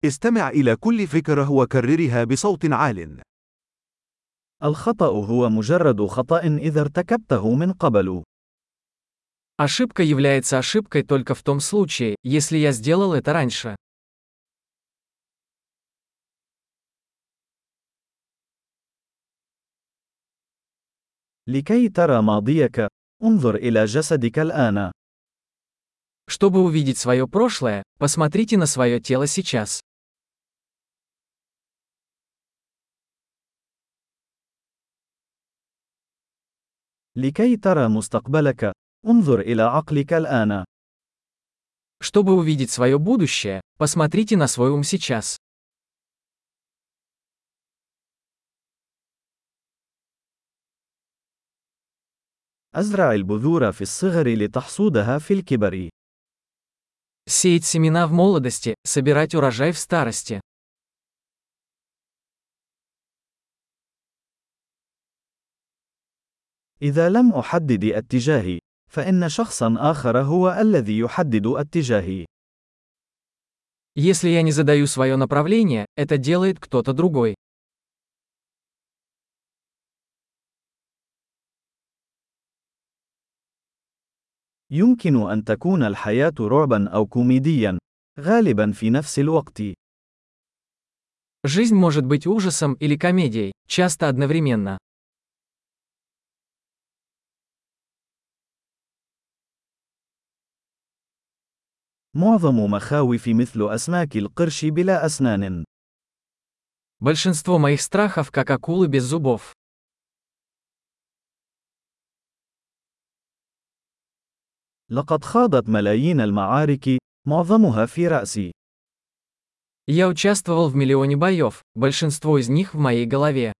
استمع إلى كل فكرة وكررها بصوت عال. الخطأ هو مجرد خطأ إذا ارتكبته من قبل. Ошибка является ошибкой только в том случае, если я сделал это раньше. لكي ترى ماضيك، انظر إلى جسدك الآن. Чтобы увидеть свое прошлое, посмотрите на свое тело сейчас. لكي ترى مستقبلك، انظر إلى عقلك الآن. Чтобы увидеть свое будущее, посмотрите на свой ум сейчас. أزرع البذور في الصغر لتحصودها في الكبر. Сеять семена в молодости, собирать урожай в старости. إذا لم أحدد اتجاهي، فإن شخصا آخر هو الذي يحدد اتجاهي. Если я не задаю свое направление, это делает кто-то другой. يمكن أن تكون الحياة رعبا أو كوميديا، غالبا في نفس الوقت. Жизнь может быть ужасом или комедией, часто одновременно. معظم مخاوف مثل أسماك القرش بلا أسنان. Большинство моих страхов как акулы без зубов. لقد خاضت ملايين المعارك، معظمها في رأسي. Я участвовал в миллионе боев, большинство из них в моей голове.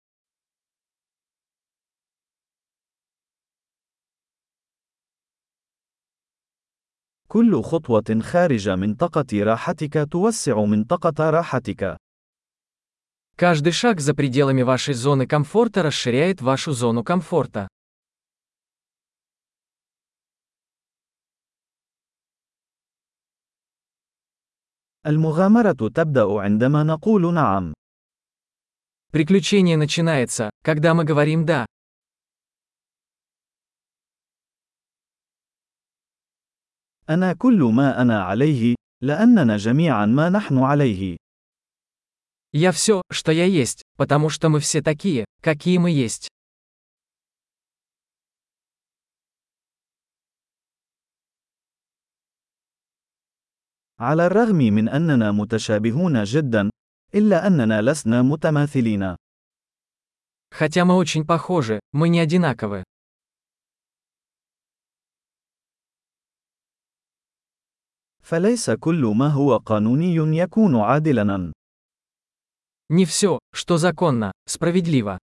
كل خطوة خارج منطقة راحتك توسع منطقة راحتك. Каждый шаг за пределами вашей зоны комфорта расширяет вашу зону комфорта. المغامرة تبدأ عندما نقول نعم. Приключение начинается, когда мы говорим «да». أنا كل ما أنا عليه، لأننا جميعا ما نحن عليه. Я все, что я есть, потому что мы все такие, какие мы есть. على الرغم من أننا متشابهون جدا، إلا أننا لسنا متماثلين. Хотя мы очень похожи, мы не одинаковы. فليس كل ما هو قانوني يكون عادلاً. Не все, что законно, справедливо.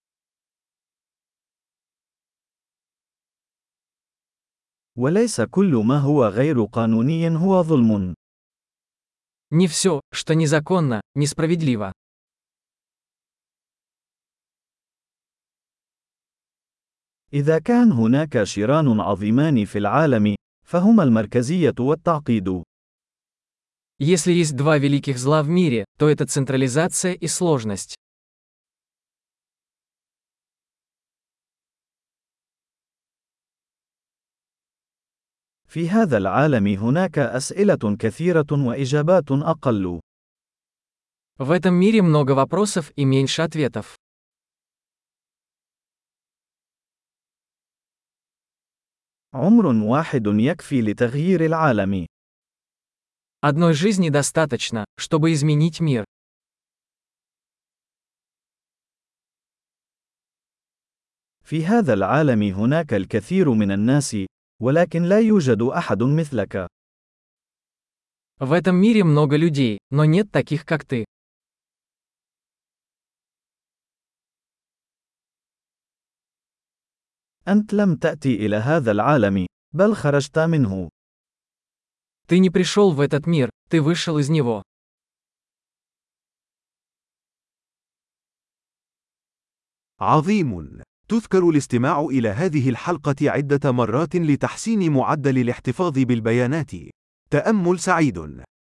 وليس كل ما هو غير قانوني هو ظلم. Не все, что незаконно, несправедливо. إذا كان هناك شران عظيمان في العالم، فهما المركزية والتعقيد. Если есть два великих зла в мире, то это централизация и сложность. في هذا العالم هناك أسئلة كثيرة وإجابات أقل. В этом мире много вопросов и меньше ответов. عمر واحد يكفي لتغيير العالم. Одной жизни достаточно, чтобы изменить мир. في هذا العالم هناك الكثير من الناس، ولكن لا يوجد أحد مثلك. В этом мире много людей, но нет таких, как ты. أنت لم تأتي إلى هذا العالم، بل خرجت منه. Ты не пришел в этот мир, ты вышел из него. عظيم. تذكر الاستماع إلى هذه الحلقة عدة مرات لتحسين معدل الاحتفاظ بالبيانات. تأمل سعيد.